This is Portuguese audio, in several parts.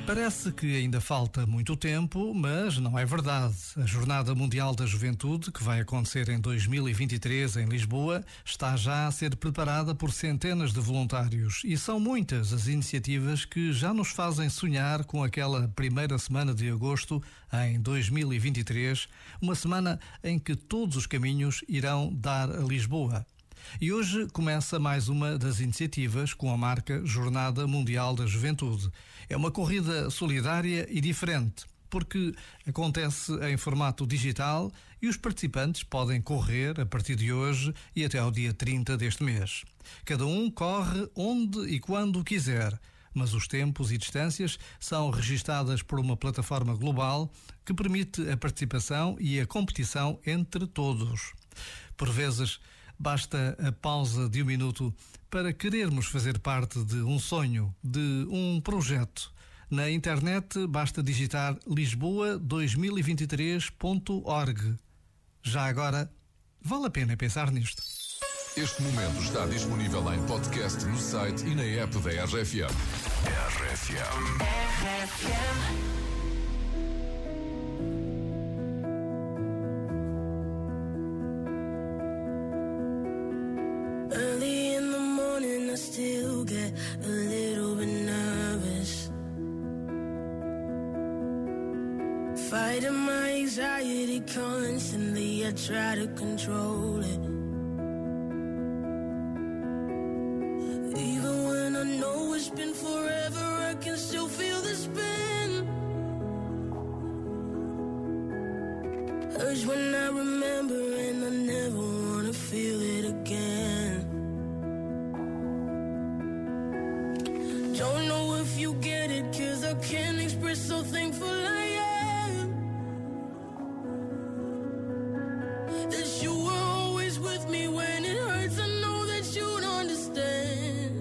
Parece que ainda falta muito tempo, mas não é verdade. A Jornada Mundial da Juventude, que vai acontecer em 2023 em Lisboa, está já a ser preparada por centenas de voluntários e são muitas as iniciativas que já nos fazem sonhar com aquela primeira semana de agosto em 2023, uma semana em que todos os caminhos irão dar a Lisboa. E hoje começa mais uma das iniciativas com a marca Jornada Mundial da Juventude. É uma corrida solidária e diferente, porque acontece em formato digital e os participantes podem correr a partir de hoje e até ao dia 30 deste mês. Cada um corre onde e quando quiser, mas os tempos e distâncias são registadas por uma plataforma global que permite a participação e a competição entre todos. Por vezes, basta a pausa de um minuto para querermos fazer parte de um sonho, de um projeto. Na internet basta digitar lisboa2023.org. Já agora, vale a pena pensar nisto. Este momento está disponível em podcast no site e na app da RFM. RFM. Early in the morning I still get a little bit nervous, fighting my anxiety constantly. I try to control it, even when I know it's been forever, I can still feel the spin. Urge when I remember and I never wanna feel it again. Don't know if you get it, 'cause I can't express how thankful I am that you were always with me when it hurts. I know that you'd understand.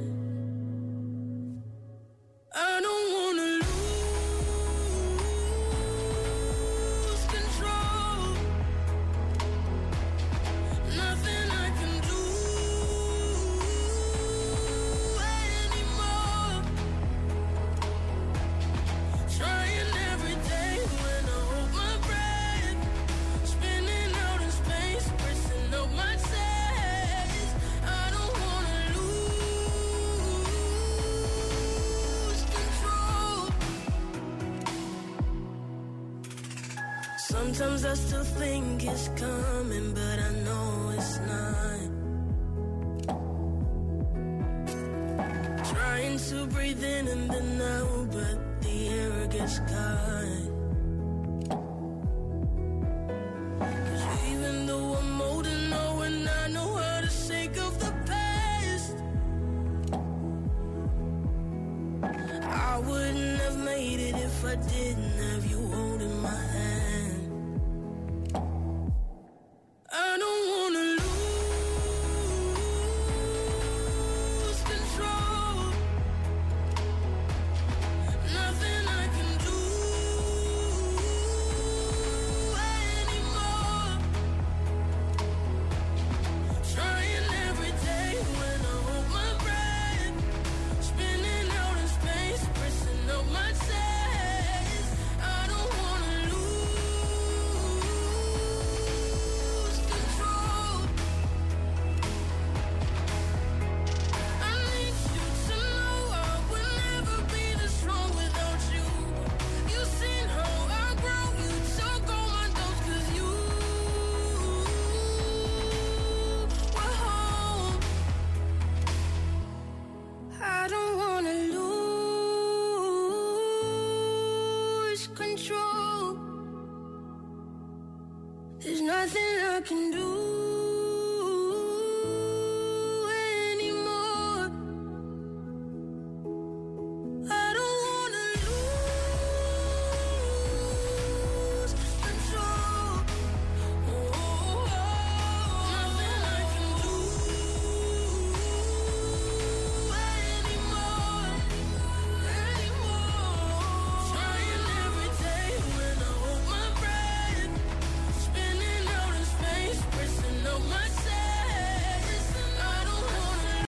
I don't wanna lose control. Nothing I can do anymore. Trying every day when I hold my breath, spinning out in space, pressing up my chest. I don't wanna lose control. Sometimes I still think it's coming, but I know it's not. Trying to breathe in and then out, but the air gets caught. 'Cause even though I'm old and know and I know how to shake off the past, I wouldn't have made it if I didn't have you holding my hand. I don't wanna lose control. Nothing I can do anymore. Trying every day when I hold my breath, spinning out in space, pressing up my chest. I don't wanna lose control. I need you to know I would never be this strong without you. You've seen how I grow, you took all my doubts 'cause you were home. I don't wanna lose control. There's nothing I can do